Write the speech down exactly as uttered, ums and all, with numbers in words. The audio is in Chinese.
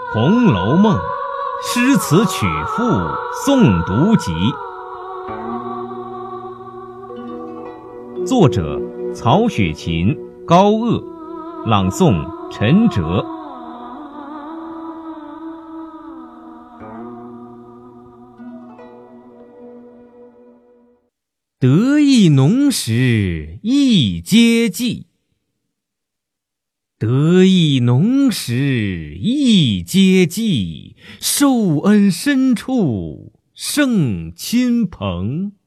红楼梦》诗词曲赋诵读集，作者曹雪芹、高鹗，朗诵陈哲。得意浓时一阶记，得意浓时一阶记，受恩深处胜亲朋。